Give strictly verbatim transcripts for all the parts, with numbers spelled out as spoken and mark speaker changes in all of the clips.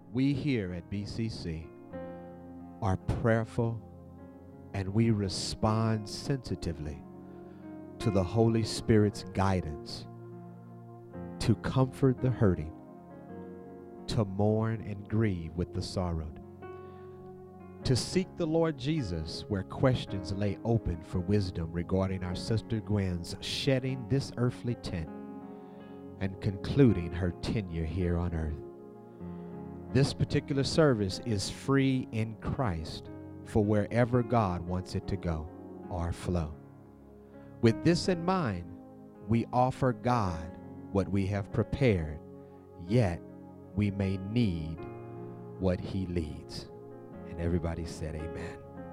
Speaker 1: we here at B C C are prayerful and we respond sensitively to the Holy Spirit's guidance to comfort the hurting, to mourn and grieve with the sorrowed, to seek the Lord Jesus where questions lay open for wisdom regarding our sister Gwen's shedding this earthly tent and concluding her tenure here on earth. This particular service is free in Christ for wherever God wants it to go or flow. With this in mind, we offer God what we have prepared, yet we may need what He leads. And everybody said amen.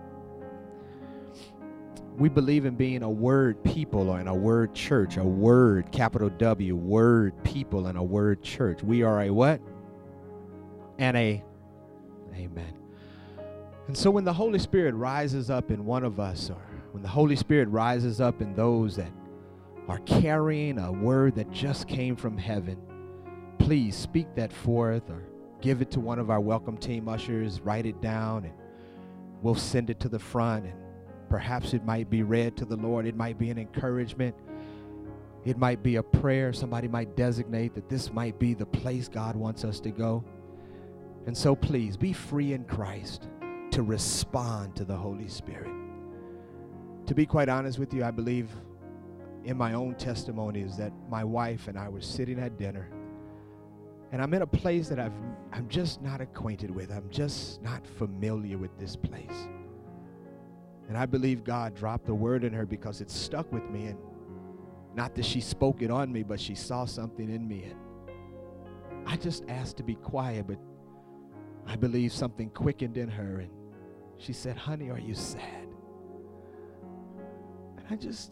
Speaker 1: We believe in being a word people and a word church, a word, capital W, word people and a word church. We are a what? And a, amen. And so when the Holy Spirit rises up in one of us, or when the Holy Spirit rises up in those that are carrying a word that just came from heaven, please speak that forth or give it to one of our welcome team ushers, write it down, and we'll send it to the front, and perhaps it might be read to the Lord. It might be an encouragement. It might be a prayer. Somebody might designate that this might be the place God wants us to go. And so please be free in Christ to respond to the Holy Spirit. To be quite honest with you, I believe in my own testimony is that my wife and I were sitting at dinner, and I'm in a place that I've, I'm just not acquainted with. I'm just not familiar with this place. And I believe God dropped a word in her because it stuck with me, and not that she spoke it on me, but she saw something in me. And I just asked to be quiet, but I believe something quickened in her, and she said, "Honey, are you sad?" And I just,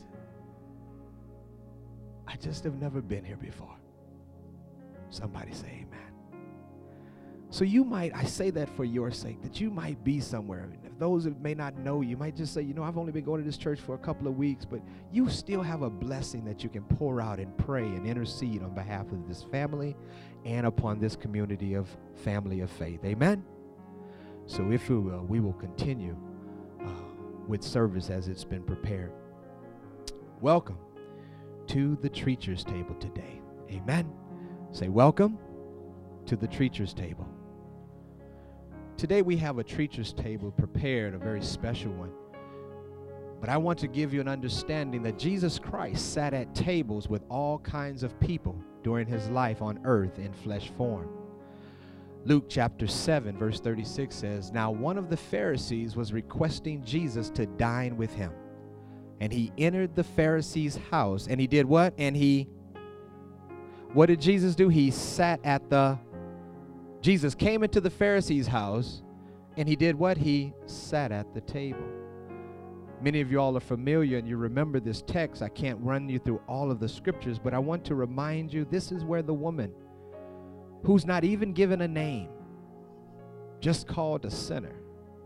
Speaker 1: I just have never been here before. Somebody say amen. So you might, I say that for your sake, that you might be somewhere. If those that may not know you might just say, you know, I've only been going to this church for a couple of weeks, but you still have a blessing that you can pour out and pray and intercede on behalf of this family and upon this community of family of faith. Amen? So if we will, we will continue uh, with service as it's been prepared. Welcome to the Treachers Table today. Amen? Say welcome to the Treachers Table. Today we have a Treachers Table prepared, a very special one. But I want to give you an understanding that Jesus Christ sat at tables with all kinds of people during his life on earth in flesh form. Luke chapter seven verse thirty-six says, "Now one of the Pharisees was requesting Jesus to dine with him. And he entered the Pharisee's house." And he did what? And he, what did Jesus do? He sat at the, Jesus came into the Pharisee's house, and he did what? He sat at the table. Many of you all are familiar and you remember this text. I can't run you through all of the scriptures, but I want to remind you this is where the woman, who's not even given a name, just called a sinner,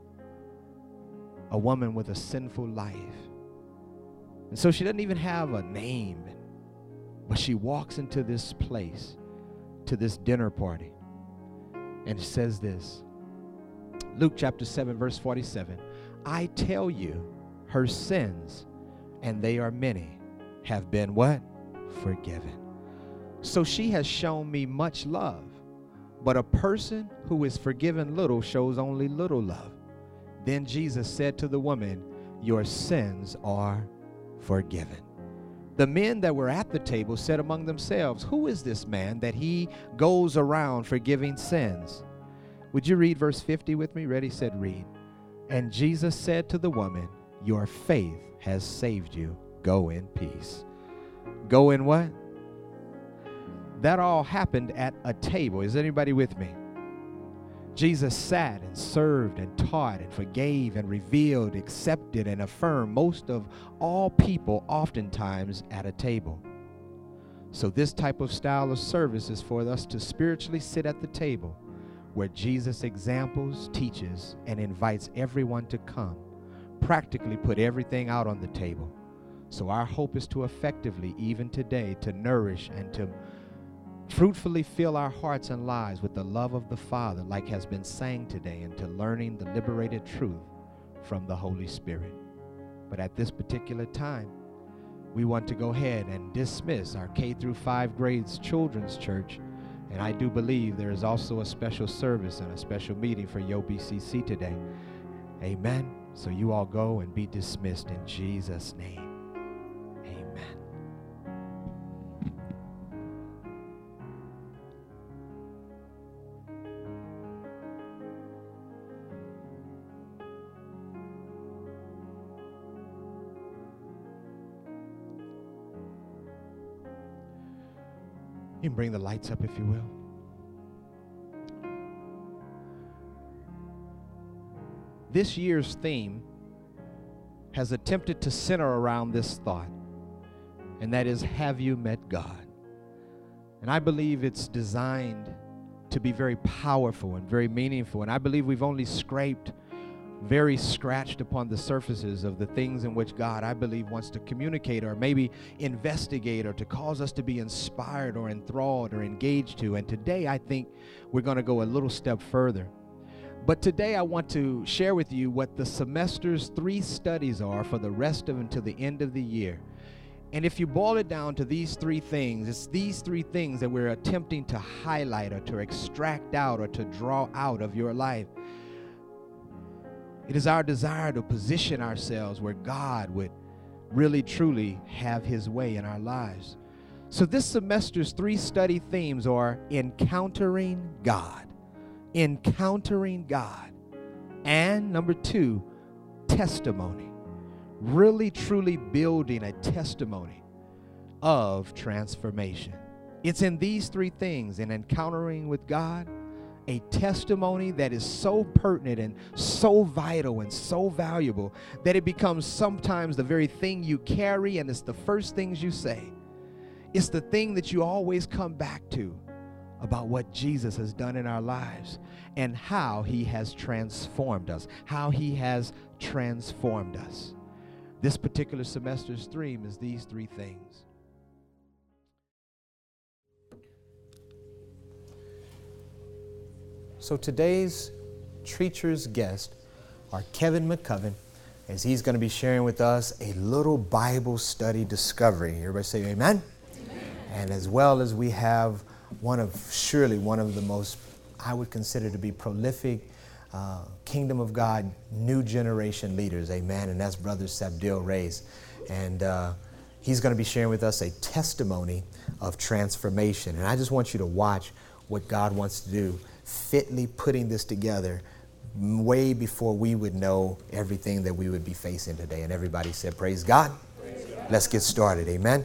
Speaker 1: a woman with a sinful life. And so she doesn't even have a name, but she walks into this place, to this dinner party, and it says this, Luke chapter seven, verse forty-seven, "I tell you, her sins, and they are many, have been" what? "Forgiven. So she has shown me much love, but a person who is forgiven little shows only little love. Then Jesus said to the woman, your sins are forgiven." The men that were at the table said among themselves, "Who is this man that he goes around forgiving sins?" Would you read verse fifty with me? Ready, said, read. "And Jesus said to the woman, your faith has saved you. Go in peace." Go in what? That all happened at a table. Is anybody with me? Jesus sat and served and taught and forgave and revealed, accepted and affirmed most of all people oftentimes at a table. So this type of style of service is for us to spiritually sit at the table where Jesus examples, teaches, and invites everyone to come. Practically put everything out on the table. So our hope is to effectively, even today, to nourish and to fruitfully fill our hearts and lives with the love of the Father, like has been sang today, and to learning the liberated truth from the Holy Spirit. But at this particular time, we want to go ahead and dismiss our K through five grades children's church. And I do believe there is also a special service and a special meeting for Yo B C C today. Amen. So you all go and be dismissed in Jesus' name. Amen. You can bring the lights up if you will. This year's theme has attempted to center around this thought, and that is, have you met God? And I believe it's designed to be very powerful and very meaningful, and I believe we've only scraped, very scratched upon the surfaces of the things in which God, I believe, wants to communicate or maybe investigate or to cause us to be inspired or enthralled or engaged to. And today I think we're going to go a little step further. But today I want to share with you what the semester's three studies are for the rest of until the end of the year. And if you boil it down to these three things, it's these three things that we're attempting to highlight or to extract out or to draw out of your life. It is our desire to position ourselves where God would really, truly have his way in our lives. So this semester's three study themes are encountering God, encountering God, and number two, testimony. Really, truly building a testimony of transformation. It's in these three things, in encountering with God, a testimony that is so pertinent and so vital and so valuable that it becomes sometimes the very thing you carry, and it's the first things you say. It's the thing that you always come back to about what Jesus has done in our lives and how he has transformed us, how he has transformed us. This particular semester's theme is these three things. So today's Treacher's guest are Kevin McCoven, as he's going to be sharing with us a little Bible study discovery. Everybody say amen? Amen. And as well as we have one of, surely one of the most, I would consider to be prolific uh, Kingdom of God new generation leaders, amen, and that's Brother Sabdil Reyes. And uh, he's going to be sharing with us a testimony of transformation. And I just want you to watch what God wants to do, fitly putting this together way before we would know everything that we would be facing today. And everybody said, praise God. Praise God. Let's get started. Amen.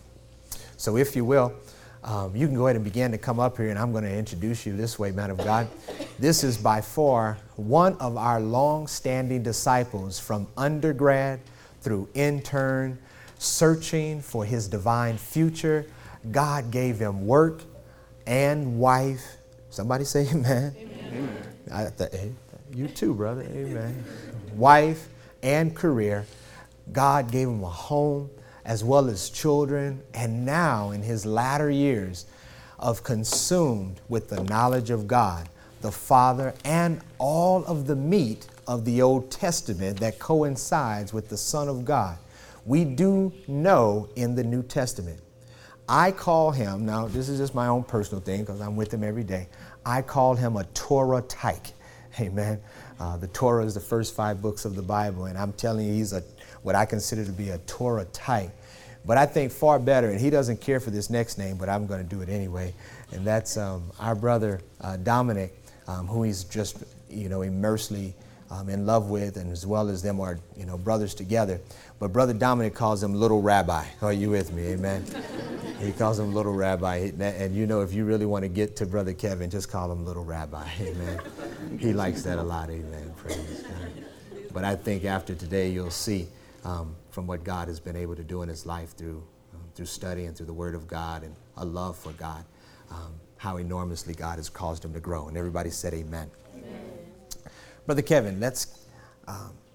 Speaker 1: So if you will, um, you can go ahead and begin to come up here, and I'm going to introduce you this way, man of God. This is by far one of our long-standing disciples from undergrad through intern, searching for his divine future. God gave him work and wife. Somebody say amen. Amen. I, the, hey, you too, brother. Amen. Wife and career. God gave him a home as well as children. And now in his latter years of consumed with the knowledge of God, the Father, and all of the meat of the Old Testament that coincides with the Son of God, we do know in the New Testament. I call him, now this is just my own personal thing because I'm with him every day, I call him a Torah tyke. Amen. Uh, the Torah is the first five books of the Bible, and I'm telling you, he's a what I consider to be a Torah type. But I think far better, and he doesn't care for this next name, but I'm going to do it anyway, and that's um, our brother uh, Dominic, um, who he's just, you know, immersely um, in love with, and as well as them are, you know, brothers together. But Brother Dominic calls him Little Rabbi. Are you with me? Amen. He calls him Little Rabbi. And you know, if you really want to get to Brother Kevin, just call him Little Rabbi. Amen. He likes that a lot. Amen. Praise God. But I think after today, you'll see um, from what God has been able to do in his life through, um, through study and through the Word of God and a love for God, um, how enormously God has caused him to grow. And everybody said amen. Amen. Brother Kevin, let's um,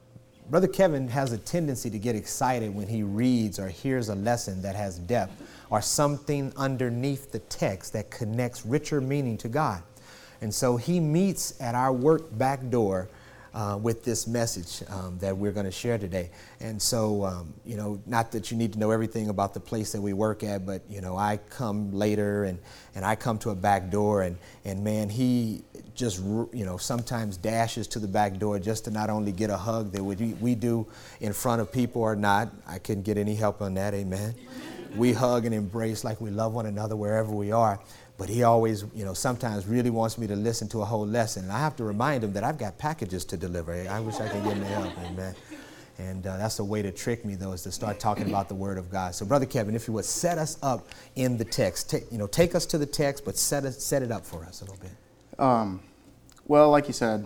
Speaker 1: Brother Kevin has a tendency to get excited when he reads or hears a lesson that has depth or something underneath the text that connects richer meaning to God. And so he meets at our work back door uh, with this message um, that we're going to share today. And so, um, you know, not that you need to know everything about the place that we work at, but, you know, I come later and, and I come to a back door and, and man, he just, you know, sometimes dashes to the back door just to not only get a hug that we, we do in front of people or not. I couldn't get any help on that, amen. We hug and embrace like we love one another wherever we are. But he always, you know, sometimes really wants me to listen to a whole lesson. And I have to remind him that I've got packages to deliver. I wish I could get any help, amen. And uh, that's a way to trick me, though, is to start talking about the Word of God. So, Brother Kevin, if you would set us up in the text. Ta- you know, take us to the text, but set it, set it up for us a little bit.
Speaker 2: Um, well, like you said,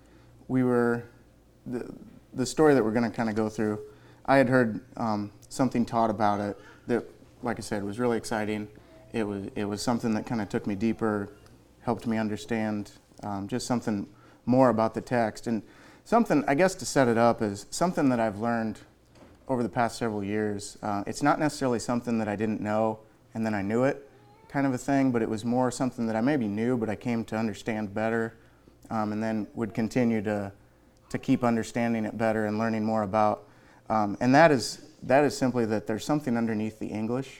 Speaker 2: we were, the, the story that we're going to kind of go through, I had heard um, something taught about it that, like I said, was really exciting. It was it was something that kind of took me deeper, helped me understand um, just something more about the text. And something, I guess to set it up, is something that I've learned over the past several years. Uh, it's not necessarily something that I didn't know and then I knew it kind of a thing, but it was more something that I maybe knew, but I came to understand better um, and then would continue to to keep understanding it better and learning more about. Um, and that is that is simply that there's something underneath the English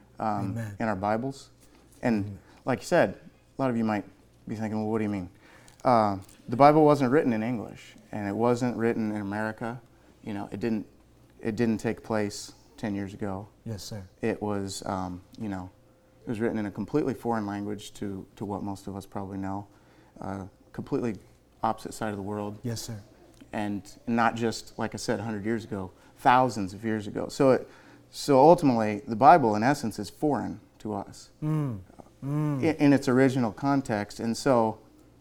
Speaker 2: Um, in our Bibles. And mm-hmm. like you said, a lot of you might be thinking, well, what do you mean? Uh, the Bible wasn't written in English, and it wasn't written in America. You know, it didn't it didn't take place ten years ago.
Speaker 1: Yes, sir.
Speaker 2: It was, um, you know, it was written in a completely foreign language to, to what most of us probably know. Uh, completely opposite side of the world.
Speaker 1: Yes, sir.
Speaker 2: And not just, like I said, one hundred years ago, thousands of years ago. So it So ultimately, the Bible, in essence, is foreign to us
Speaker 1: mm. Mm.
Speaker 2: In, in its original context. And so,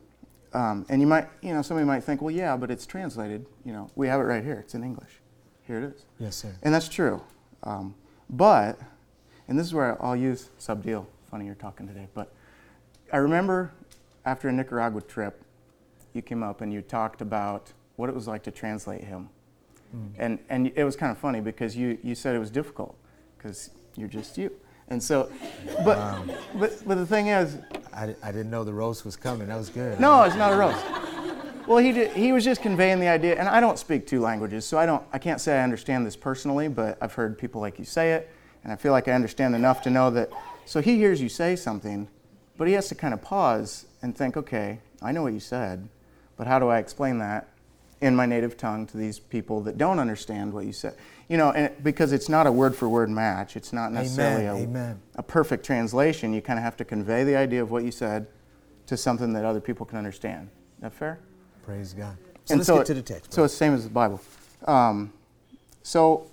Speaker 2: um, and you might, you know, somebody might think, well, yeah, but it's translated. You know, we have it right here. It's in English. Here it is.
Speaker 1: Yes, sir.
Speaker 2: And that's true. Um, but, and this is where I'll use subdeal. Funny you're talking today. But I remember after a Nicaragua trip, you came up and you talked about what it was like to translate him. Mm. And and it was kind of funny because you, you said it was difficult because you're just you. And so, but wow. but but the thing is,
Speaker 1: I, I didn't know the roast was coming. That was good.
Speaker 2: No, it's not a roast. Well, he did, he was just conveying the idea, and I don't speak two languages, so I don't I can't say I understand this personally, but I've heard people like you say it, and I feel like I understand enough to know that. So he hears you say something, but he has to kind of pause and think, okay, I know what you said, but how do I explain that in my native tongue to these people that don't understand what you said? You know, and because it's not a word-for-word match. It's not necessarily
Speaker 1: Amen.
Speaker 2: A,
Speaker 1: Amen.
Speaker 2: a perfect translation. You kind of have to convey the idea of what you said to something that other people can understand. Is that fair?
Speaker 1: Praise God. So
Speaker 2: and
Speaker 1: let's
Speaker 2: so
Speaker 1: get
Speaker 2: it,
Speaker 1: to the text.
Speaker 2: So it's the same as the Bible. Um, so,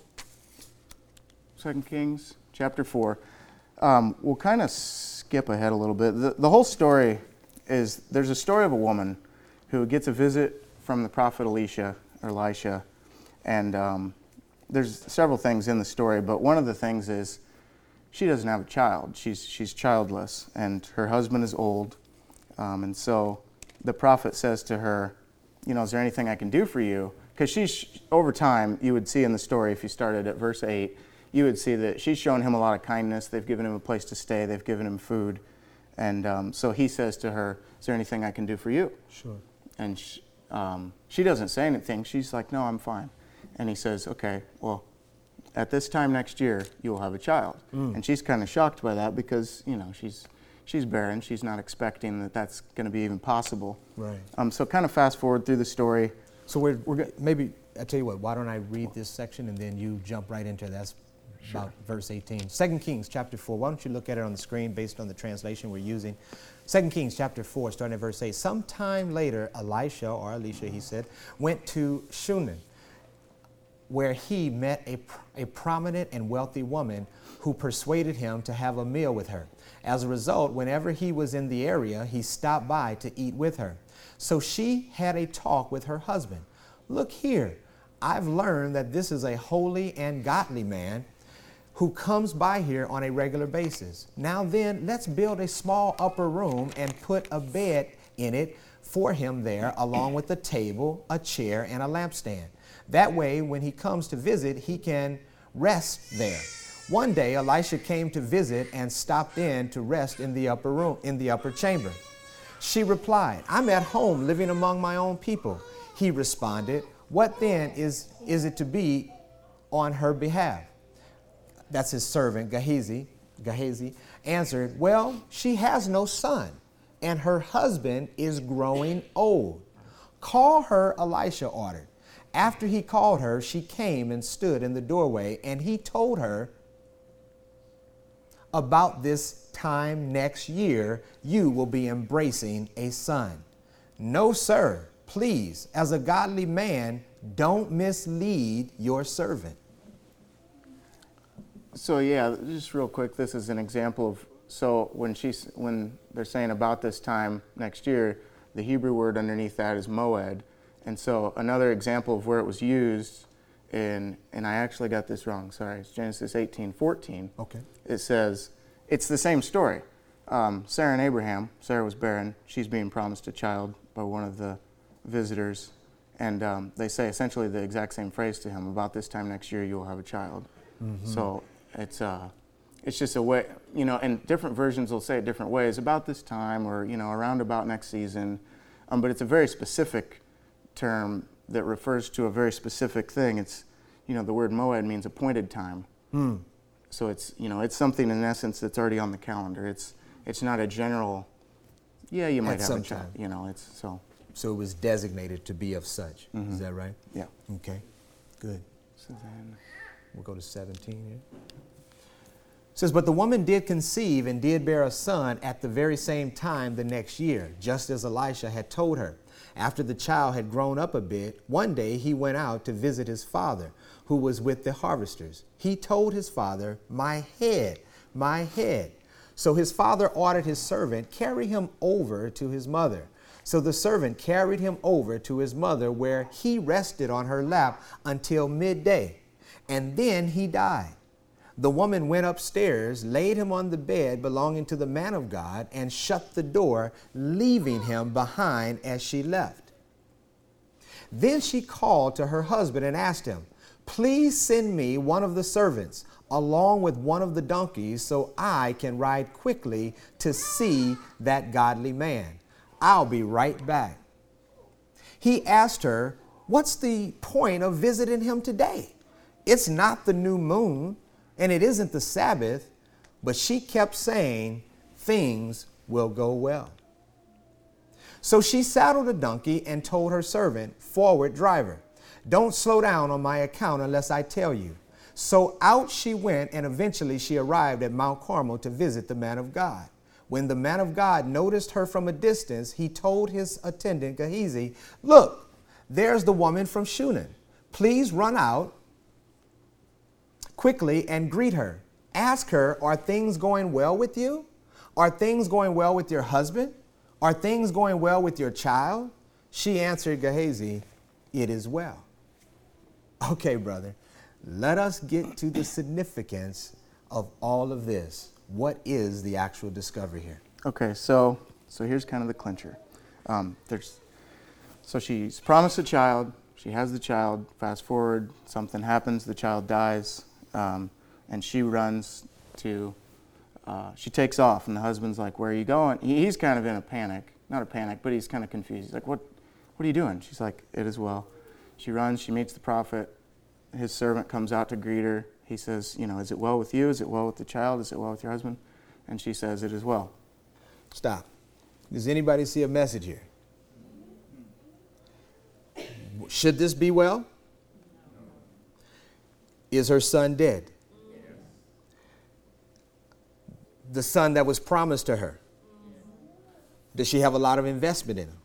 Speaker 2: Second Kings chapter four. Um, we'll kind of skip ahead a little bit. The, the whole story is, there's a story of a woman who gets a visit from the prophet Elisha, or Elisha, and um, there's several things in the story, but one of the things is she doesn't have a child. She's she's childless, and her husband is old, um, and so the prophet says to her, you know, is there anything I can do for you? Because she's, over time, you would see in the story, if you started at verse eight, you would see that she's shown him a lot of kindness. They've given him a place to stay. They've given him food. And um, so he says to her, is there anything I can do for you?
Speaker 1: Sure.
Speaker 2: And she, um, she doesn't say anything. She's like, no, I'm fine. And he says, okay, well, at this time next year, you will have a child. Mm. And she's kind of shocked by that because, you know, she's she's barren. She's not expecting that that's going to be even possible.
Speaker 1: Right.
Speaker 2: Um. So kind of fast forward through the story.
Speaker 1: So we're, we're go- maybe, I tell you what, why don't I read this section and then you jump right into it. That's
Speaker 2: Sure.
Speaker 1: about verse eighteen. Second Kings chapter four. Why don't you look at it on the screen based on the translation we're using. Second Kings chapter four, starting at verse eight. Sometime later, Elisha, or Elisha, he said, went to Shunem, where he met a, a prominent and wealthy woman who persuaded him to have a meal with her. As a result, whenever he was in the area, he stopped by to eat with her. So she had a talk with her husband. Look here, I've learned that this is a holy and godly man who comes by here on a regular basis. Now then, let's build a small upper room and put a bed in it for him there, along with a table, a chair, and a lampstand.
Speaker 3: That way, when he comes to visit, he can rest there. One day, Elisha came to visit and stopped in to rest in the upper room, in the upper chamber. She replied, I'm at home living among my own people. He responded, what then is, is it to be on her behalf? That's his servant, Gehazi, Gehazi answered, well, she has no son, and her husband is growing old. Call her, Elisha ordered. After he called her, she came and stood in the doorway, and he told her, about this time next year, you will be embracing a son. No, sir, please, as a godly man, don't mislead your servant.
Speaker 2: So yeah, just real quick, this is an example of, so when she's, when they're saying about this time next year, the Hebrew word underneath that is moed. And so another example of where it was used in, and I actually got this wrong, sorry, it's Genesis eighteen fourteen.
Speaker 3: Okay.
Speaker 2: It says, it's the same story. Um, Sarah and Abraham, Sarah was barren, she's being promised a child by one of the visitors. And um, they say essentially the exact same phrase to him, about this time next year you will have a child. Mm-hmm. So it's uh, it's just a way, you know, and different versions will say it different ways, about this time or, you know, around about next season. Um, but it's a very specific term that refers to a very specific thing. It's, you know, the word moed means appointed time. Mm. So it's, you know, it's something in essence that's already on the calendar. It's it's not a general, yeah, you might
Speaker 3: At
Speaker 2: have
Speaker 3: some
Speaker 2: a child,
Speaker 3: time.
Speaker 2: you know, it's so.
Speaker 3: So it was designated to be of such. Mm-hmm. Is that right?
Speaker 2: Yeah.
Speaker 3: Okay, good.
Speaker 2: So then
Speaker 3: we'll go to seventeen here. It says, but the woman did conceive and did bear a son at the very same time the next year, just as Elisha had told her. After the child had grown up a bit, one day he went out to visit his father, who was with the harvesters. He told his father, my head, my head. So his father ordered his servant, carry him over to his mother. So the servant carried him over to his mother, where he rested on her lap until midday, and then he died. The woman went upstairs, laid him on the bed belonging to the man of God, and shut the door, leaving him behind as she left. Then she called to her husband and asked him, please send me one of the servants along with one of the donkeys so I can ride quickly to see that godly man. I'll be right back. He asked her, what's the point of visiting him today? It's not the new moon, and it isn't the Sabbath. But she kept saying, things will go well. So she saddled a donkey and told her servant, forward driver, don't slow down on my account unless I tell you. So out she went, and eventually she arrived at Mount Carmel to visit the man of God. When the man of God noticed her from a distance, he told his attendant Gehazi, look, there's the woman from Shunem. Please run out quickly and greet her. Ask her, are things going well with you? Are things going well with your husband? Are things going well with your child? She answered Gehazi, it is well. Okay, brother, let us get to the significance of all of this. What is the actual discovery here?
Speaker 2: Okay, so so here's kind of the clincher. Um, there's so she's promised a child. She has the child. Fast forward, something happens. The child dies, um, and she runs to. Uh, she takes off, and the husband's like, "Where are you going?" He, he's kind of in a panic, not a panic, but he's kind of confused. He's like, "What? What are you doing?" She's like, "It is well." She runs. She meets the prophet. His servant comes out to greet her. He says, you know, is it well with you? Is it well with the child? Is it well with your husband? And she says, it is well.
Speaker 3: Stop. Does anybody see a message here? Should this be well? Is her son dead? The son that was promised to her. Does she have a lot of investment in him?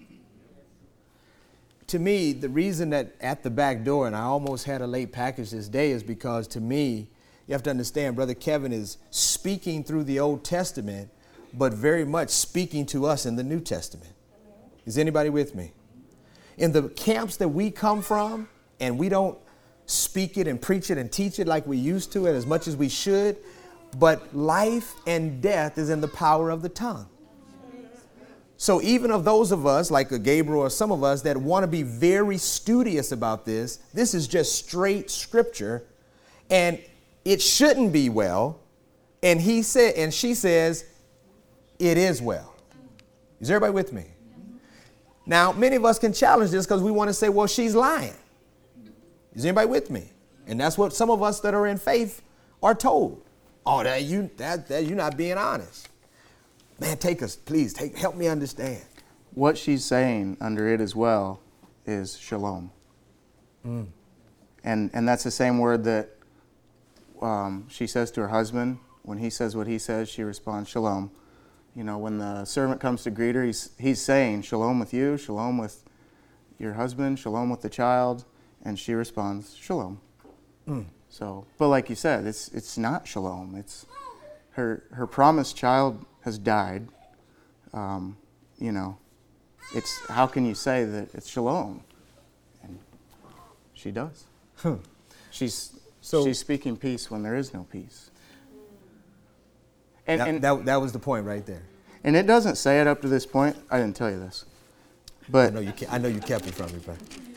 Speaker 3: To me, the reason that at the back door, and I almost had a late package this day, is because to me, you have to understand, Brother Kevin is speaking through the Old Testament, but very much speaking to us in the New Testament. Is anybody with me? In the camps that we come from, and we don't speak it and preach it and teach it like we used to and as much as we should, but life and death is in the power of the tongue. So even of those of us, like a Gabriel or some of us, that want to be very studious about this, this is just straight scripture, and it shouldn't be well. And he said, and she says, it is well. Is everybody with me? Now, many of us can challenge this because we want to say, well, she's lying. Is anybody with me? And that's what some of us that are in faith are told. Oh, that you that, that you're not being honest. Man, take us, please, take help me understand.
Speaker 2: What she's saying under it as well is shalom. Mm. And and that's the same word that um, she says to her husband. When he says what he says, she responds shalom. You know, when the servant comes to greet her, he's, he's saying shalom with you, shalom with your husband, shalom with the child, and she responds shalom. Mm. So, but like you said, it's it's not shalom. It's her her promised child has died. Um, you know, it's how can you say that it's shalom? And she does. Huh. She's so she's speaking peace when there is no peace.
Speaker 3: And, that, and that, that was the point right there.
Speaker 2: And it doesn't say it up to this point. I didn't tell you this, but
Speaker 3: I know you. I know you kept it from me, but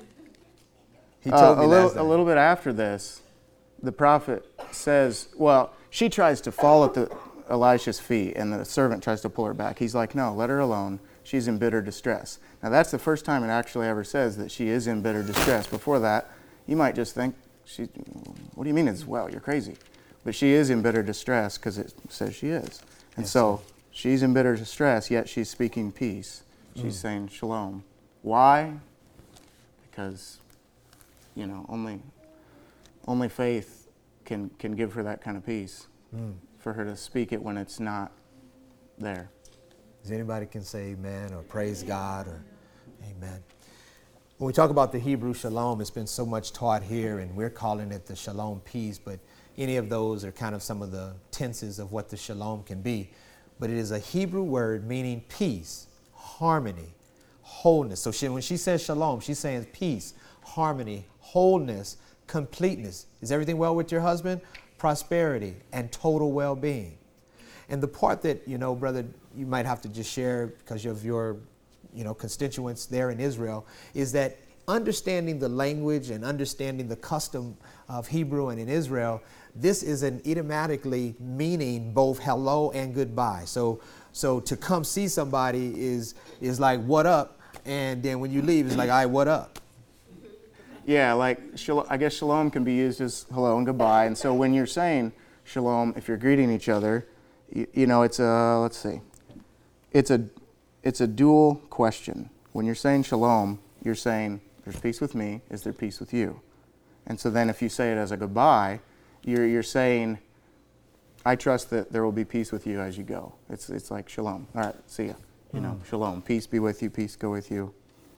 Speaker 2: he told uh, me a little a little bit after this. The prophet says, "Well, she tries to fall at the Elisha's feet, and the servant tries to pull her back. He's like, no, let her alone. She's in bitter distress." Now that's the first time it actually ever says that she is in bitter distress. Before that, you might just think, "She, what do you mean it's well? You're crazy." But she is in bitter distress because it says she is. And yes, so sir. She's in bitter distress, yet she's speaking peace. She's mm. saying shalom. Why? Because, you know, only only faith can, can give her that kind of peace. Mm. For her to speak it when it's not there.
Speaker 3: Does anybody can say amen or praise God or amen? When we talk about the Hebrew shalom, it's been so much taught here, and we're calling it the shalom peace, but any of those are kind of some of the tenses of what the shalom can be. But it is a Hebrew word meaning peace, harmony, wholeness. So she, when she says shalom, she's saying peace, harmony, wholeness, completeness. Is everything well with your husband? Prosperity and total well-being. And the part that, you know, brother, you might have to just share because of your, you know, constituents there in Israel, is that understanding the language and understanding the custom of Hebrew and in Israel, this is an idiomatically meaning both hello and goodbye. So so to come see somebody is is like what up, and then when you leave it's like, all right, what up?
Speaker 2: Yeah, like I guess shalom can be used as hello and goodbye. And so when you're saying shalom, if you're greeting each other, you, you know, it's a, let's see, it's a it's a dual question. When you're saying shalom, you're saying there's peace with me, is there peace with you? And so then if you say it as a goodbye, you're you're saying, I trust that there will be peace with you as you go. It's it's like shalom. All right, see ya. You mm. know, shalom. Peace be with you, peace go with you.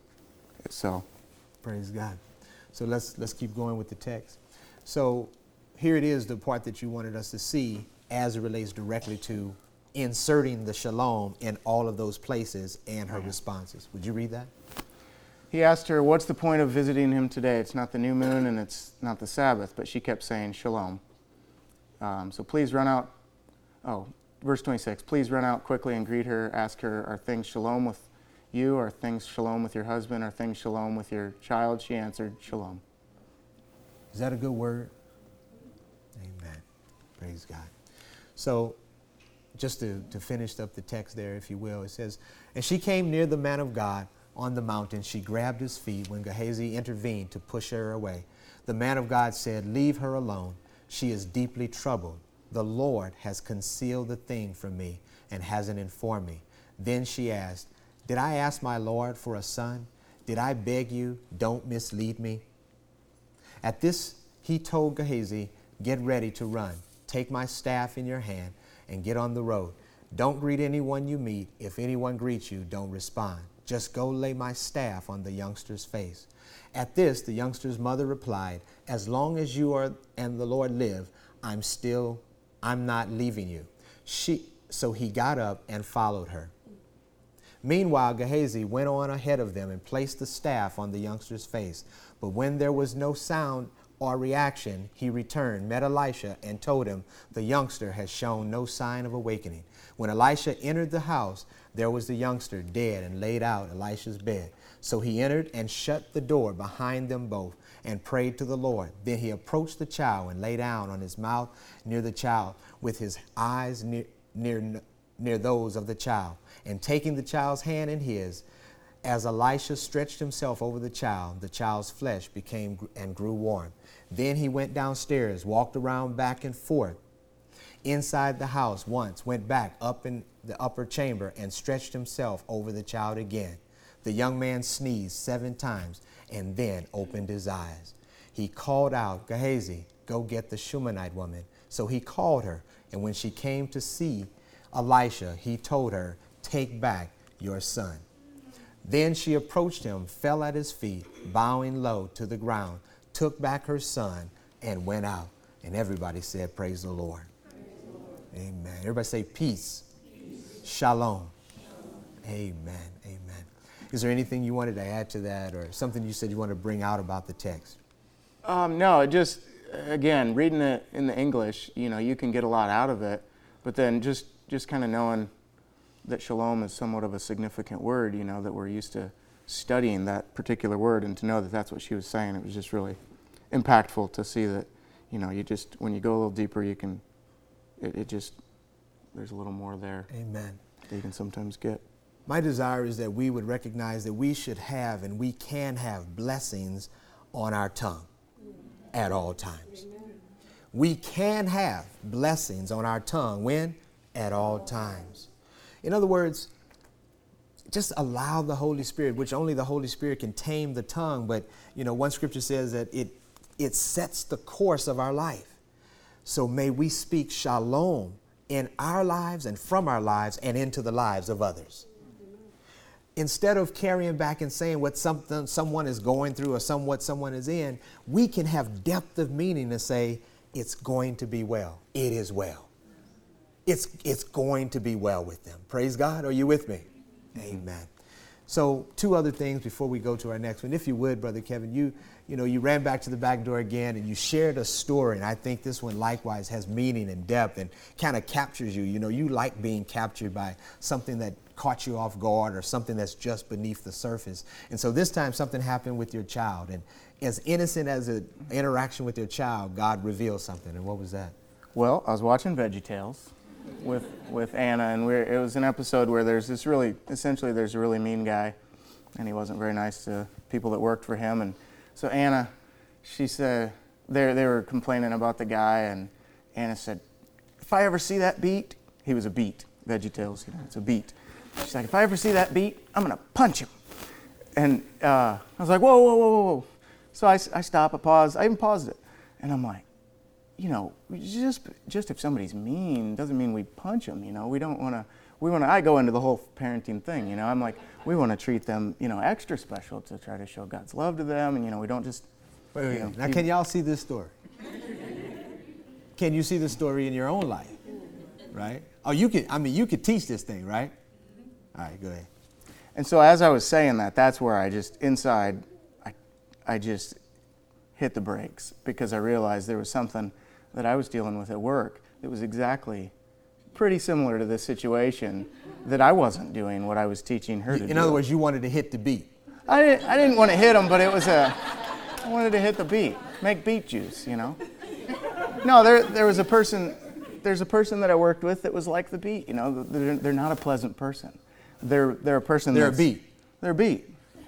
Speaker 2: So
Speaker 3: praise God. So let's let's keep going with the text. So here it is, the part that you wanted us to see as it relates directly to inserting the shalom in all of those places and her responses. Would you read that?
Speaker 2: He asked her, what's the point of visiting him today? It's not the new moon and it's not the Sabbath, but she kept saying shalom. Um, so please run out. Oh, verse twenty-six, please run out quickly and greet her. Ask her, are things shalom with you? Are things shalom with your husband? Are things shalom with your child? She answered, shalom.
Speaker 3: Is that a good word? Amen. Praise God. So just to, to finish up the text there, if you will, it says, and she came near the man of God on the mountain. She grabbed his feet when Gehazi intervened to push her away. The man of God said, leave her alone. She is deeply troubled. The Lord has concealed the thing from me and hasn't informed me. Then she asked, did I ask my Lord for a son? Did I beg you, don't mislead me? At this, he told Gehazi, get ready to run. Take my staff in your hand and get on the road. Don't greet anyone you meet. If anyone greets you, don't respond. Just go lay my staff on the youngster's face. At this, the youngster's mother replied, as long as you are and the Lord live, I'm still, I'm not leaving you. She, so he got up and followed her. Meanwhile, Gehazi went on ahead of them and placed the staff on the youngster's face. But when there was no sound or reaction, he returned, met Elisha, and told him the youngster has shown no sign of awakening. When Elisha entered the house, there was the youngster dead and laid out Elisha's bed. So he entered and shut the door behind them both and prayed to the Lord. Then he approached the child and lay down on his mouth near the child, with his eyes near, near, near those of the child. And taking the child's hand in his, as Elisha stretched himself over the child, the child's flesh became and grew warm. Then he went downstairs, walked around back and forth inside the house once, went back up in the upper chamber and stretched himself over the child again. The young man sneezed seven times and then opened his eyes. He called out, Gehazi, go get the Shunammite woman. So he called her, and when she came to see Elisha, he told her, take back your son. Then she approached him, fell at his feet, bowing low to the ground, took back her son, and went out. And everybody said, praise the Lord. Praise the Lord. Amen. Everybody say peace. Peace. Shalom. Shalom. Amen. Amen. Is there anything you wanted to add to that, or something you said you want to bring out about the text?
Speaker 2: Um, no, it just, again, reading it in the English, you know, you can get a lot out of it. But then just, just kind of knowing that shalom is somewhat of a significant word, you know, that we're used to studying that particular word, and to know that that's what she was saying, it was just really impactful to see that, you know, you just, when you go a little deeper, you can, it, it just, there's a little more there.
Speaker 3: Amen.
Speaker 2: That you can sometimes get.
Speaker 3: My desire is that we would recognize that we should have and we can have blessings on our tongue at all times. We can have blessings on our tongue. When? At all times. In other words, just allow the Holy Spirit, which only the Holy Spirit can tame the tongue. But, you know, one scripture says that it, it sets the course of our life. So may we speak shalom in our lives and from our lives and into the lives of others. Instead of carrying back and saying what something someone is going through or somewhat someone is in, we can have depth of meaning to say, it's going to be well. It is well. It's, it's going to be well with them. Praise God. Are you with me? Amen. So two other things before we go to our next one. If you would, Brother Kevin, you, you know, you ran back to the back door again and you shared a story. And I think this one likewise has meaning and depth and kind of captures you. You know, you like being captured by something that caught you off guard or something that's just beneath the surface. And so this time something happened with your child. And as innocent as an interaction with your child, God revealed something. And what was that?
Speaker 2: Well, I was watching VeggieTales with with Anna, and we're, it was an episode where there's this really, essentially there's a really mean guy, and he wasn't very nice to people that worked for him. And so Anna, she said, they they were complaining about the guy, and Anna said, if I ever see that beat, he was a beat, VeggieTales, you know, it's a beat. She's like, if I ever see that beat, I'm going to punch him. And uh, I was like, whoa, whoa, whoa, whoa, whoa. So I, I stop, I pause, I even paused it, and I'm like, you know, just just if somebody's mean doesn't mean we punch them. You know, we don't want to. We want to. I go into the whole parenting thing. You know, I'm like, we want to treat them, you know, extra special to try to show God's love to them, and you know, we don't just.
Speaker 3: Wait, wait,
Speaker 2: you know,
Speaker 3: now, can y'all see this story? Can you see this story in your own life? Right? Oh, you could. I mean, you could teach this thing, right? All right, go ahead.
Speaker 2: And so, as I was saying that, that's where I just inside, I, I just hit the brakes because I realized there was something that I was dealing with at work that was exactly pretty similar to this situation, that I wasn't doing what I was teaching her to do.
Speaker 3: In other words, you wanted to hit the beat.
Speaker 2: I didn't, I didn't want to hit him, but it was a, I wanted to hit the beat, make beet juice, you know. No, there there was a person, there's a person that I worked with that was like the beet, you know. They're, they're not a pleasant person. They're they're a person
Speaker 3: They're
Speaker 2: that's...
Speaker 3: a beet.
Speaker 2: They're a beet.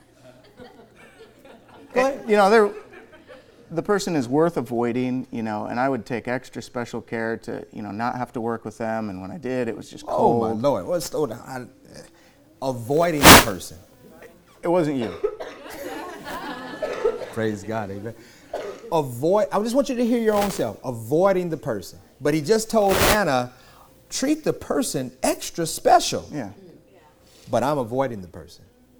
Speaker 3: Go ahead.
Speaker 2: You know, they're... The person is worth avoiding, you know, and I would take extra special care to, you know, not have to work with them. And when I did, it was just cold.
Speaker 3: Oh, my Lord. Well, slow down. I, uh, avoiding the person.
Speaker 2: It wasn't you.
Speaker 3: Praise God. Amen. Avoid. I just want you to hear your own self. Avoiding the person. But he just told Anna, treat the person extra special.
Speaker 2: Yeah.
Speaker 3: But I'm avoiding the person.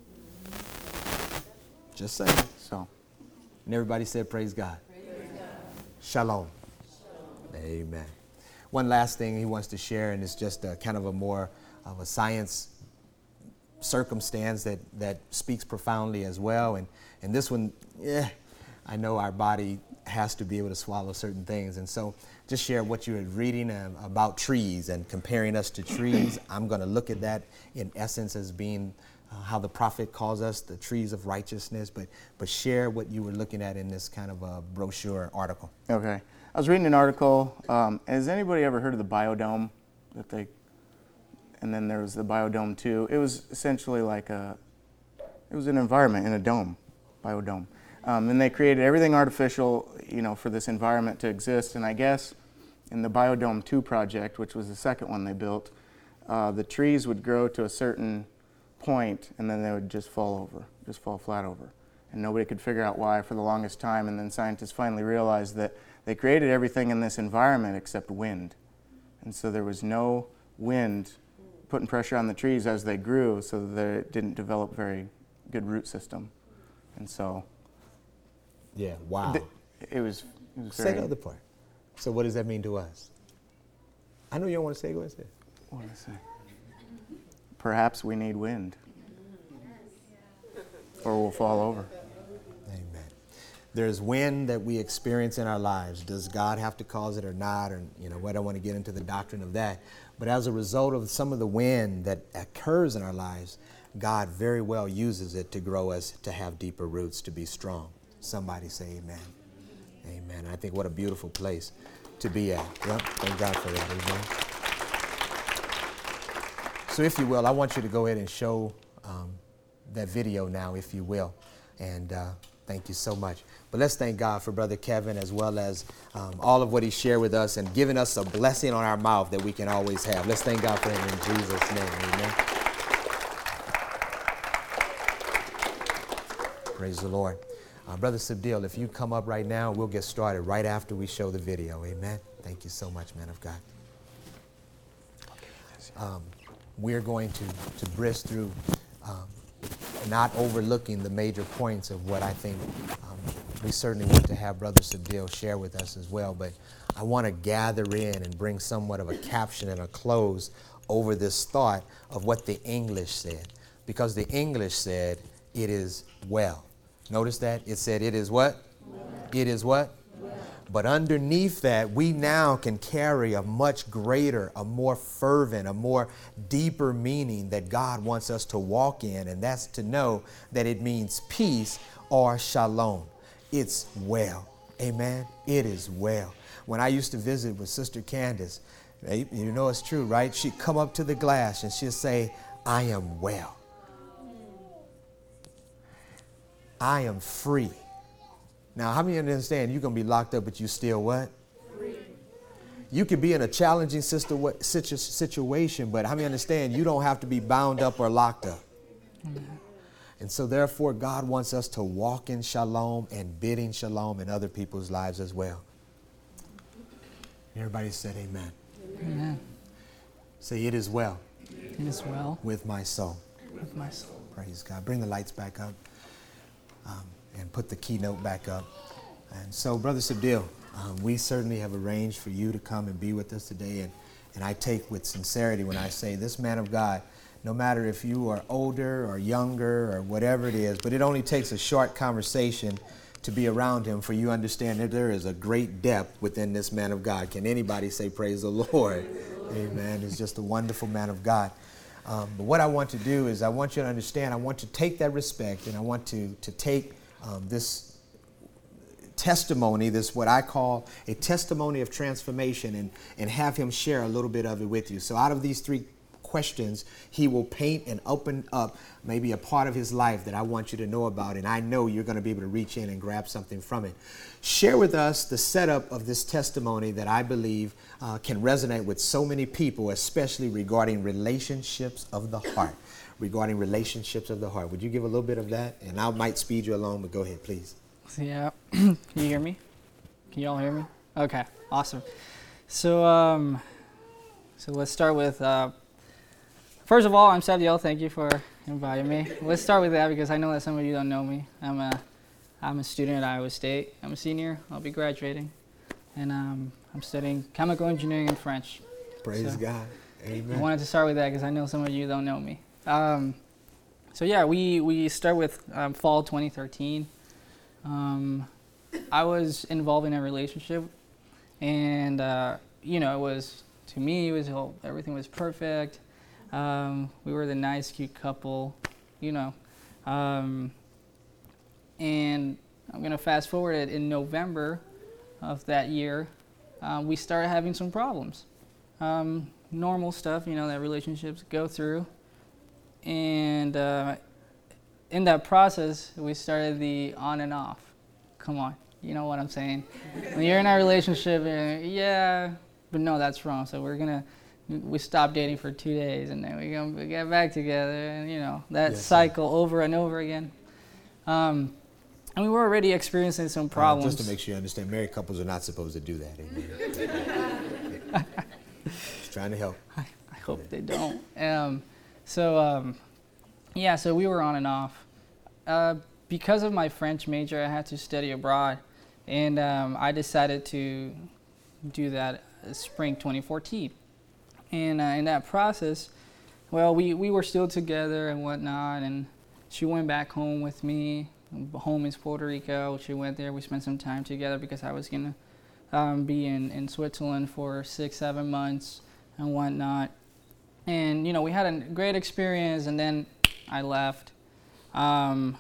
Speaker 3: Just saying.
Speaker 2: So.
Speaker 3: And everybody said, praise God.
Speaker 4: Praise God.
Speaker 3: Shalom. Shalom. Amen. One last thing he wants to share, and it's just a, kind of a more of a science circumstance that, that speaks profoundly as well. And, and this one, yeah, I know our body has to be able to swallow certain things. And so just share what you were reading um, about trees and comparing us to trees. I'm going to look at that in essence as being uh, how the prophet calls us the trees of righteousness, but but share what you were looking at in this kind of a brochure article.
Speaker 2: Okay. I was reading an article. Um, has anybody ever heard of the Biodome? That they, and then there was the Biodome two. It was essentially like a, it was an environment in a dome, Biodome. Um, and they created everything artificial, you know, for this environment to exist. And I guess in the Biodome two project, which was the second one they built, uh, the trees would grow to a certain point and then they would just fall over, just fall flat over. And nobody could figure out why for the longest time. And then scientists finally realized that they created everything in this environment except wind. And so there was no wind putting pressure on the trees as they grew, so that it didn't develop very good root system. And so
Speaker 3: Yeah, wow.
Speaker 2: th- it was, it was
Speaker 3: Say
Speaker 2: very,
Speaker 3: the other part. So what does that mean to us? I know you don't want to say it. Go ahead and say it.
Speaker 2: what did I say? Perhaps we need wind. Or we'll fall over.
Speaker 3: Amen. There's wind that we experience in our lives. Does God have to cause it or not? Or, you know, I don't want to get into the doctrine of that. But as a result of some of the wind that occurs in our lives, God very well uses it to grow us to have deeper roots, to be strong. Somebody say amen. Amen. I think what a beautiful place to be at. Yep. Thank God for that. Amen. So if you will, I want you to go ahead and show um, that video now, if you will. And uh, thank you so much. But let's thank God for Brother Kevin, as well as um, all of what he shared with us and giving us a blessing on our mouth that we can always have. Let's thank God for him in Jesus' name. Amen. Praise the Lord. Uh, Brother Subdil, if you come up right now, we'll get started right after we show the video. Amen. Thank you so much, man of God. Um, we're going to, to brisk through um, not overlooking the major points of what I think um, we certainly want to have Brother Subdil share with us as well. But I want to gather in and bring somewhat of a caption and a close over this thought of what the English said. Because the English said, it is well. Notice that? It said, it is what? Well. It is what? Well. But underneath that, we now can carry a much greater, a more fervent, a more deeper meaning that God wants us to walk in. And that's to know that it means peace or shalom. It's well. Amen. It is well. When I used to visit with Sister Candace, you know it's true, right? She'd come up to the glass and she'd say, I am well. I am free. Now, how many understand you're going to be locked up, but you still what? Free. You could be in a challenging situ- situ- situation, but how many understand you don't have to be bound up or locked up? Mm-hmm. And so, therefore, God wants us to walk in shalom and bidding shalom in other people's lives as well. Everybody said amen.
Speaker 4: Amen.
Speaker 3: Say, it is well.
Speaker 4: It is well.
Speaker 3: With my soul.
Speaker 4: With my soul.
Speaker 3: Praise God. Bring the lights back up. Um, and put the keynote back up. And so, Brother Subdil, um, we certainly have arranged for you to come and be with us today. And, and I take with sincerity when I say this man of God, no matter if you are older or younger or whatever it is, but it only takes a short conversation to be around him for you to understand that there is a great depth within this man of God. Can anybody say praise the Lord? Amen. He's just a wonderful man of God. Um, but what I want to do is I want you to understand, I want to take that respect and I want to, to take um, this testimony, this what I call a testimony of transformation, and, and have him share a little bit of it with you. So out of these three questions, he will paint and open up maybe a part of his life that I want you to know about, and I know you're going to be able to reach in and grab something from it. Share with us the setup of this testimony that I believe uh, can resonate with so many people, especially regarding relationships of the heart. Regarding relationships of the heart. Would you give a little bit of that? And I might speed you along, but go ahead, please.
Speaker 4: Yeah. Can you hear me? Can you all hear me? Okay, awesome. So, um, so let's start with, uh, first of all, I'm Subdil. Thank you for inviting me. Let's start with that because I know that some of you don't know me. I'm a, I'm a student at Iowa State. I'm a senior. I'll be graduating. And um, I'm studying chemical engineering and French.
Speaker 3: Praise
Speaker 4: so
Speaker 3: God. Amen.
Speaker 4: I wanted to start with that because I know some of you don't know me. Um, so yeah, we, we start with um, fall twenty thirteen. Um, I was involved in a relationship, and uh, you know, it was, to me, it was all, everything was perfect. Um, we were the nice, cute couple, you know. Um, and I'm gonna fast forward it. In November of that year, uh, we started having some problems. Um, normal stuff, you know, that relationships go through. And uh, in that process, we started the on and off. Come on, you know what I'm saying? When you're in a relationship, uh, yeah, but no, that's wrong. So we're gonna, we stop dating for two days, and then we gonna get back together, and you know that yes, cycle sir. over and over again. Um, and we were already experiencing some problems.
Speaker 3: Uh, just to make sure you understand, married couples are not supposed to do that. Amen. Just trying to help.
Speaker 4: I, I hope yeah. they don't. Um, so um, yeah, so we were on and off. Uh, because of my French major, I had to study abroad, and um, I decided to do that spring twenty fourteen. And uh, in that process, well, we, we were still together and whatnot, and she went back home with me. Home is Puerto Rico. She went there. We spent some time together because I was going to um, be in, in Switzerland for six, seven months and whatnot. And, you know, we had a great experience, and then I left. Um,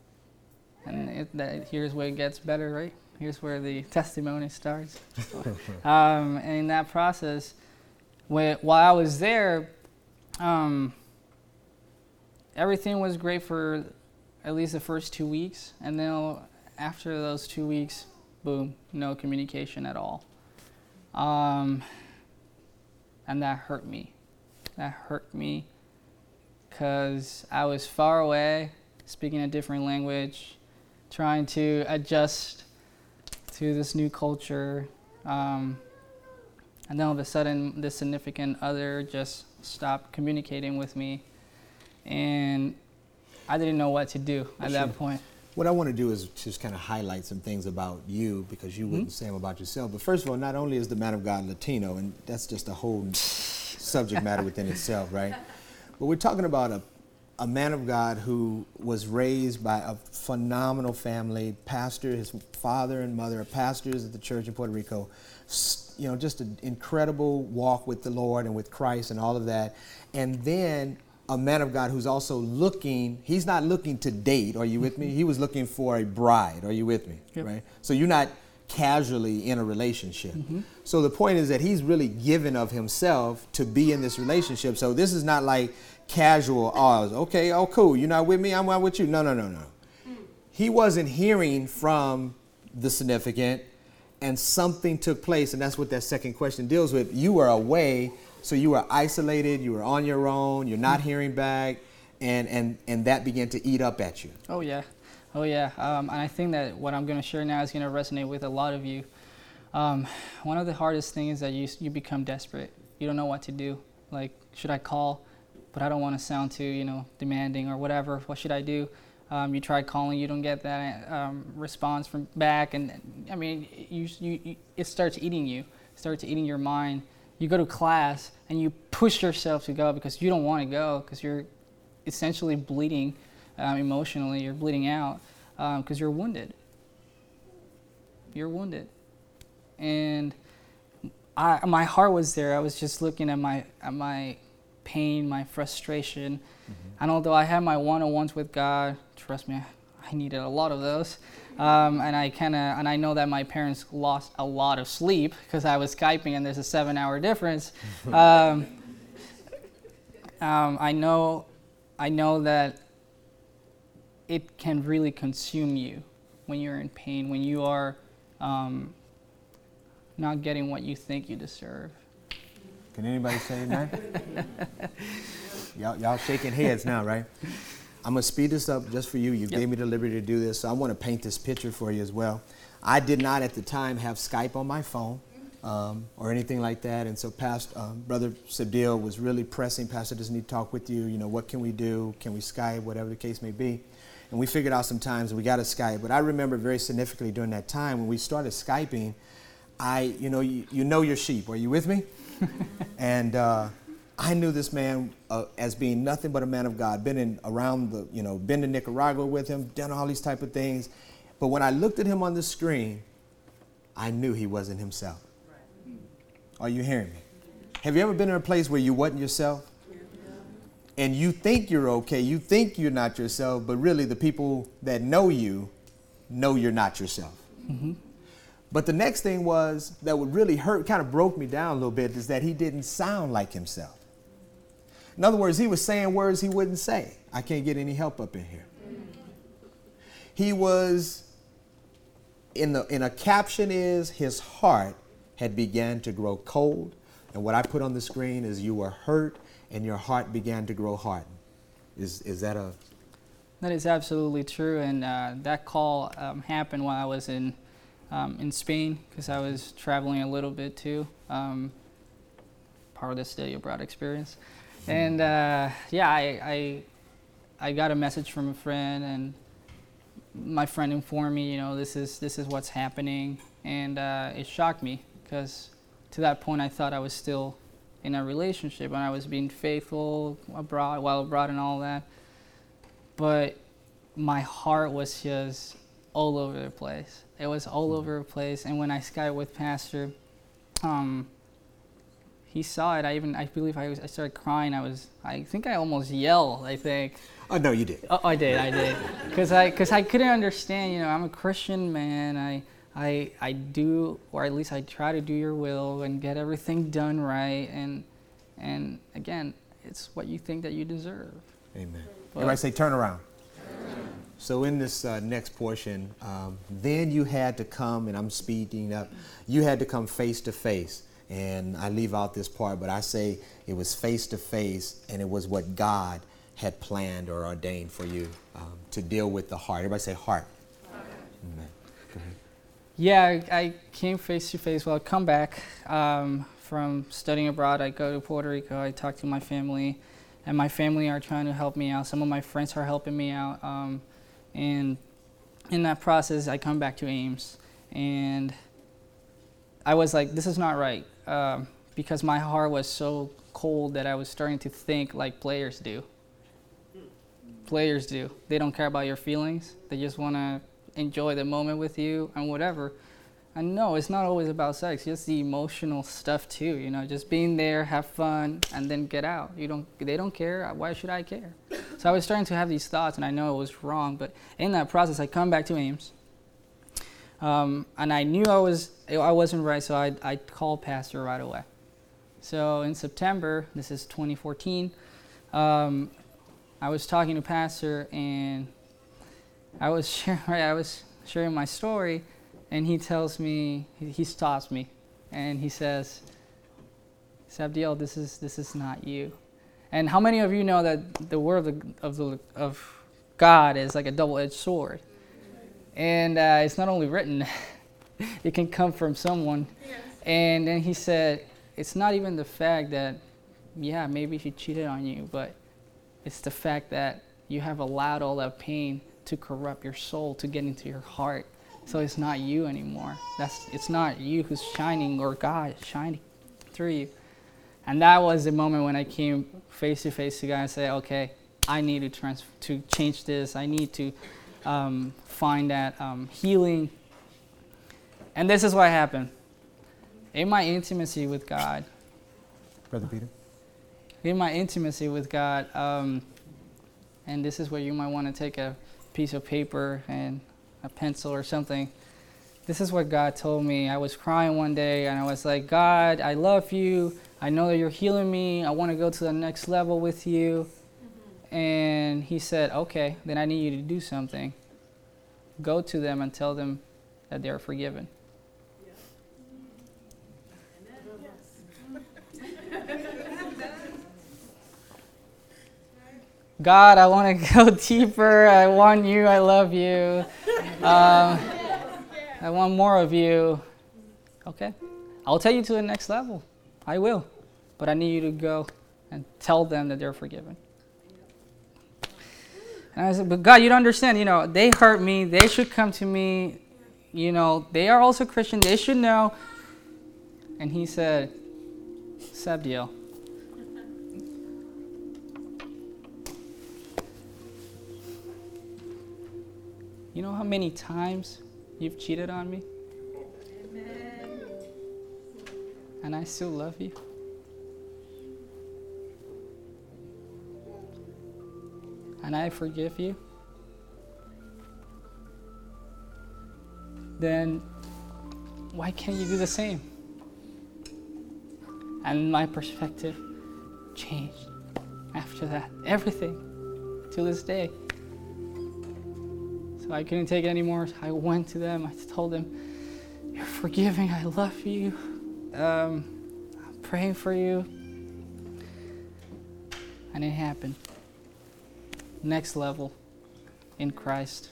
Speaker 4: and it, that, here's where it gets better, right? Here's where the testimony starts. um, and in that process, when, while I was there, um, everything was great for at least the first two weeks. And then after those two weeks, boom, no communication at all. Um, and that hurt me. That hurt me because I was far away, speaking a different language, trying to adjust to this new culture. Um, and then all of a sudden, this significant other just stopped communicating with me. And I didn't know what to do at sure. that point.
Speaker 3: What I want to do is just kind of highlight some things about you, because you mm-hmm. wouldn't say them about yourself. But first of all, not only is the man of God Latino, and that's just a whole subject matter within itself, right? But we're talking about a, a man of God who was raised by a phenomenal family, pastor, his father and mother are pastors at the church in Puerto Rico. You know, just an incredible walk with the Lord and with Christ and all of that. And then a man of God who's also looking, he's not looking to date, are you with me? He was looking for a bride, are you with me? Yep. Right? So you're not casually in a relationship. Mm-hmm. So the point is that he's really given of himself to be in this relationship. So this is not like casual, oh, okay, oh, cool, you're not with me, I'm not with you. No, no, no, no. Mm. He wasn't hearing from the significant, and something took place, and that's what that second question deals with. You were away. So you were isolated, you were on your own, you're not hearing back, and, and, and that began to eat up at you.
Speaker 4: Oh, yeah. Oh, yeah. Um, and I think that what I'm going to share now is going to resonate with a lot of you. Um, one of the hardest things is that you, you become desperate. You don't know what to do. Like, should I call? But I don't want to sound too, you know, demanding or whatever. What should I do? Um, you try calling, you don't get that um, response from back. And, I mean, you, you, you, it starts eating you. It starts eating your mind. You go to class and you push yourself to go because you don't want to go, because you're essentially bleeding um, emotionally. You're bleeding out because um, you're wounded. You're wounded. And I, my heart was there. I was just looking at my at my pain, my frustration. Mm-hmm. And although I had my one-on-ones with God, trust me, I needed a lot of those. Um, and I kind of, and I know that my parents lost a lot of sleep because I was Skyping and there's a seven-hour difference. um, um, I know, I know that it can really consume you when you're in pain, when you are um, not getting what you think you deserve.
Speaker 3: Can anybody say amen? y'all, y'all shaking heads now, right? I'm going to speed this up just for you. You yep. gave me the liberty to do this, so I want to paint this picture for you as well. I did not at the time have Skype on my phone um, or anything like that, and so Pastor, um, Brother Sabdil was really pressing, Pastor, does need to talk with you. You know, what can we do? Can we Skype? Whatever the case may be. And we figured out some times and we got a Skype. But I remember very significantly during that time when we started Skyping, I, you know, you, you know your sheep. Are you with me? and uh, I knew this man uh, as being nothing but a man of God. Been in around the, you know, been to Nicaragua with him, done all these type of things. But when I looked at him on the screen, I knew he wasn't himself. Are you hearing me? Have you ever been in a place where you wasn't yourself? And you think you're okay, you think you're not yourself, but really the people that know you know you're not yourself. Mm-hmm. But the next thing was that would really hurt, kind of broke me down a little bit, is that he didn't sound like himself. In other words, he was saying words he wouldn't say. I can't get any help up in here. He was, in the in a caption is, his heart had began to grow cold. And what I put on the screen is, you were hurt and your heart began to grow hardened. Is is that a...
Speaker 4: That is absolutely true. And uh, that call um, happened while I was in um, in Spain, because I was traveling a little bit too. Um, part of the study abroad experience. And uh, yeah, I, I I got a message from a friend, and my friend informed me, you know, this is this is what's happening, and uh, it shocked me, because to that point I thought I was still in a relationship and I was being faithful abroad, while abroad and all that. But my heart was just all over the place. It was all over the place. And when I Skyped with Pastor, um, he saw it. I even, I believe I was, I started crying. I was, I think I almost yelled, I think.
Speaker 3: Oh, no, you did.
Speaker 4: Oh, I did, I did. Because I, cause I couldn't understand, you know, I'm a Christian man. I, I, I do, or at least I try to do your will and get everything done right. And, and again, it's what you think that you deserve.
Speaker 3: Amen.
Speaker 4: But
Speaker 3: everybody say, turn around. So in this uh, next portion, um, then you had to come, and I'm speeding up, you had to come face to face. And I leave out this part, but I say it was face to face, and it was what God had planned or ordained for you um, to deal with the heart. Everybody say heart. Amen. Go ahead.
Speaker 4: Yeah, I, I came face to face. Well, I come back um, from studying abroad. I go to Puerto Rico. I talk to my family, and my family are trying to help me out. Some of my friends are helping me out. Um, and in that process, I come back to Ames, and I was like, this is not right, uh, because my heart was so cold that I was starting to think like players do. Players do. They don't care about your feelings. They just want to enjoy the moment with you and whatever. And no, it's not always about sex. It's the emotional stuff too. You know, just being there, have fun, and then get out. You don't. They don't care. Why should I care? So I was starting to have these thoughts, and I know it was wrong. But in that process, I come back to Ames, um, and I knew I was I wasn't right. So I I called Pastor right away. So in September, this is twenty fourteen, um, I was talking to Pastor, and I was sharing, I was sharing my story, and he tells me, he, he stops me, and he says, Sabdiel, this is this is not you. And how many of you know that the word of the, of, the, of God is like a double-edged sword? And uh, it's not only written, it can come from someone. Yes. And then he said, it's not even the fact that, yeah, maybe he cheated on you, but it's the fact that you have allowed all that pain to corrupt your soul, to get into your heart. So it's not you anymore. That's it's not you who's shining, or God is shining through you. And that was the moment when I came face to face to God and said, okay, I need to trans- to change this. I need to um, find that um, healing. And this is what happened. In my intimacy with God,
Speaker 3: Brother Peter.
Speaker 4: In my intimacy with God, um, and this is where you might want to take a piece of paper and a pencil or something. This is what God told me. I was crying one day, and I was like, God, I love you. I know that you're healing me. I want to go to the next level with you. Mm-hmm. And he said, okay, then I need you to do something. Go to them and tell them that they are forgiven. God, I want to go deeper. I want you. I love you. Um, I want more of you. Okay. I'll take you to the next level. I will. But I need you to go and tell them that they're forgiven. And I said, but God, you don't understand. You know, they hurt me. They should come to me. You know, they are also Christian. They should know. And he said, Sabdiel, You know how many times you've cheated on me?
Speaker 5: Amen.
Speaker 4: And I still love you? And I forgive you? Then why can't you do the same? And my perspective changed after that. Everything. To this day. So I couldn't take it anymore. I went to them. I told them, you're forgiving. I love you. Um, I'm praying for you. And it happened. Next level in Christ.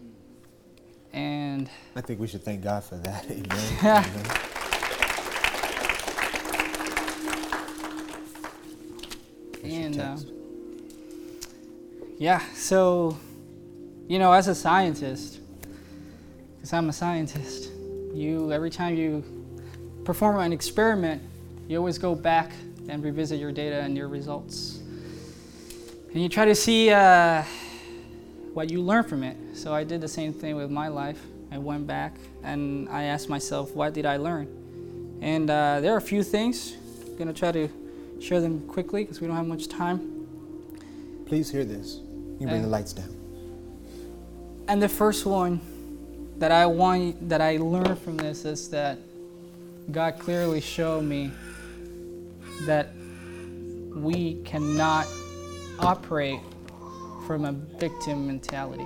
Speaker 4: And
Speaker 3: I think we should thank God for that. Amen.
Speaker 4: Yeah.
Speaker 3: Amen.
Speaker 4: And um, yeah, so, you know, as a scientist, because I'm a scientist, you, every time you perform an experiment, you always go back and revisit your data and your results. And you try to see uh, what you learn from it. So I did the same thing with my life. I went back and I asked myself, what did I learn? And uh, there are a few things. I'm going to try to share them quickly because we don't have much time.
Speaker 3: Please hear this. You can bring
Speaker 4: Uh,
Speaker 3: the lights down.
Speaker 4: And the first one that I want, that I learned from this is that God clearly showed me that we cannot operate from a victim mentality.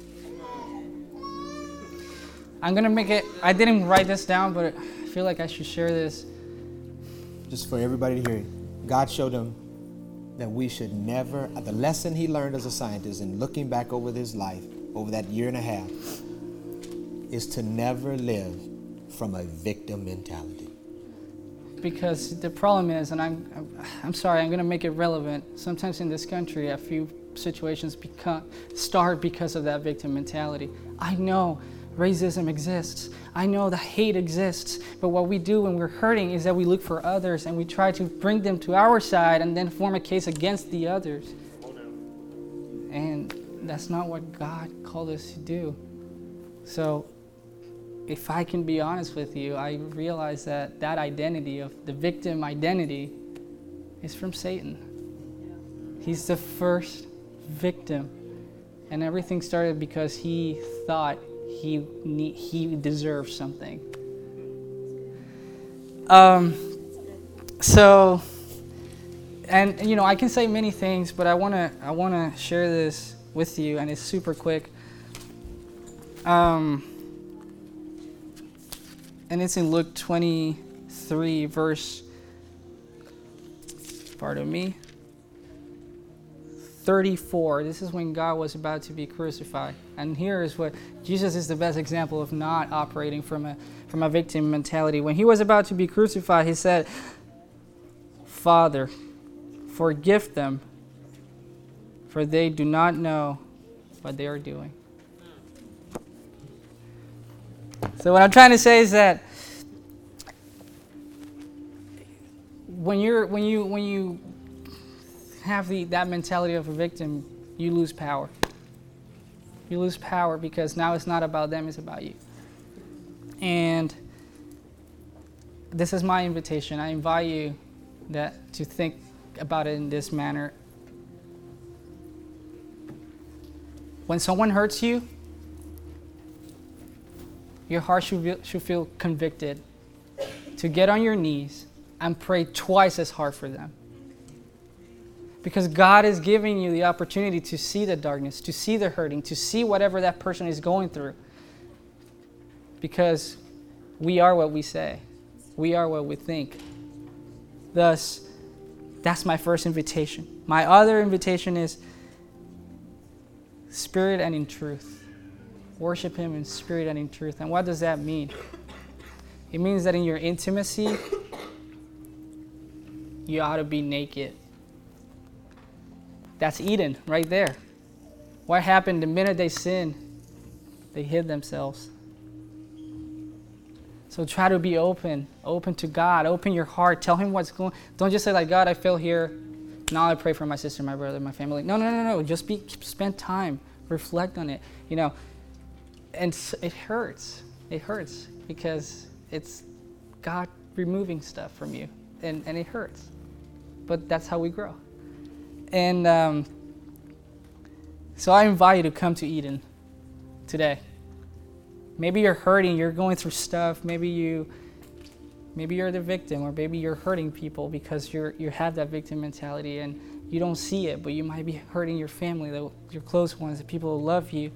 Speaker 4: I'm gonna make it, I didn't write this down, but I feel like I should share this.
Speaker 3: Just for everybody to hear it. God showed him that we should never, the lesson he learned as a scientist and looking back over his life, over that year and a half, is to never live from a victim mentality.
Speaker 4: Because the problem is, and I'm, I'm, I'm sorry, I'm going to make it relevant. Sometimes in this country, a few situations become, start because of that victim mentality. I know racism exists. I know that hate exists. But what we do when we're hurting is that we look for others and we try to bring them to our side and then form a case against the others. And that's not what God called us to do. So, if I can be honest with you, I realize that that identity of the victim identity is from Satan. He's the first victim. And everything started because he thought he ne- he deserved something. Um, so, and you know, I can say many things, but I wanna I wanna share this with you, and it's super quick. Um, and it's in Luke twenty-three, verse, pardon me, thirty-four. This is when God was about to be crucified. And here is what, Jesus is the best example of not operating from a, from a victim mentality. When he was about to be crucified, he said, Father, forgive them, for they do not know what they are doing. So what I'm trying to say is that when you're when you when you have the that mentality of a victim, you lose power. You lose power because now it's not about them, it's about you. And this is my invitation. I invite you that to think about it in this manner. When someone hurts you, your heart should feel, should feel convicted to get on your knees and pray twice as hard for them. Because God is giving you the opportunity to see the darkness, to see the hurting, to see whatever that person is going through. Because we are what we say. We are what we think. Thus, that's my first invitation. My other invitation is spirit and in truth. Worship him in spirit and in truth. And what does that mean? It means that in your intimacy, you ought to be naked. That's Eden right there. What happened the minute they sinned? They hid themselves. So try to be open, open to God, open your heart, tell him what's going on. Don't just say like, God, I fell here. Now I pray for my sister, my brother, my family. No, no, no, no. Just be, spend time, reflect on it. You know, and s- it hurts. It hurts because it's God removing stuff from you, and, and it hurts. But that's how we grow. And um, so I invite you to come to Eden today. Maybe you're hurting, you're going through stuff, maybe you maybe you're the victim, or maybe you're hurting people because you're you have that victim mentality and you don't see it, but you might be hurting your family, the, your close ones, the people who love you.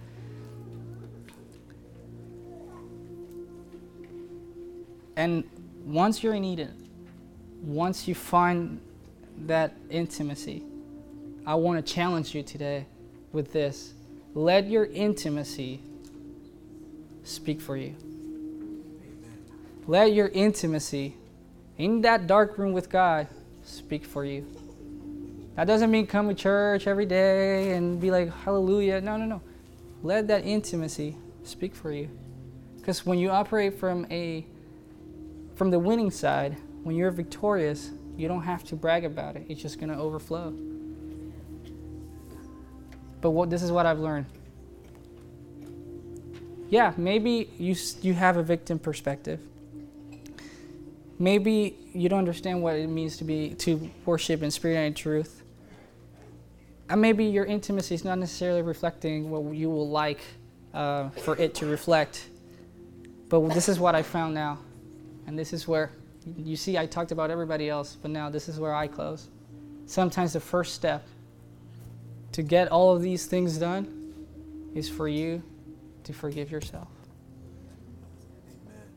Speaker 4: And once you're in Eden, once you find that intimacy, I want to challenge you today with this. Let your intimacy speak for you. Amen. Let your intimacy in that dark room with God speak for you. That doesn't mean come to church every day and be like, hallelujah. No, no, no. Let that intimacy speak for you. Because when you operate from a from the winning side, when you're victorious, you don't have to brag about it. It's just going to overflow. But what this is what I've learned. Yeah, maybe you you have a victim perspective. Maybe you don't understand what it means to be to worship in spirit and in truth. And maybe your intimacy is not necessarily reflecting what you will like uh, for it to reflect. But this is what I found now. And this is where, you see, I talked about everybody else, but now this is where I close. Sometimes the first step to get all of these things done is for you to forgive yourself.
Speaker 3: Amen.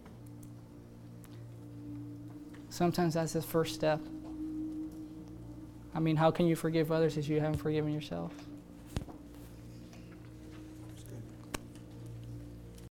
Speaker 4: Sometimes that's the first step. I mean, how can you forgive others if you haven't forgiven yourself?